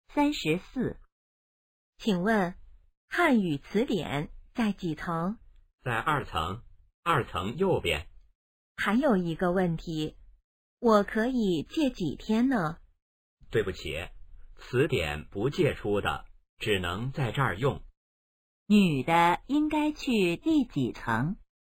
34。请问汉语词典在几层？ 在2层，2层右边。 还有一个问题，我可以借几天呢？ 对不起，词典不借出的，只能在这儿用。 女的应该去第几层？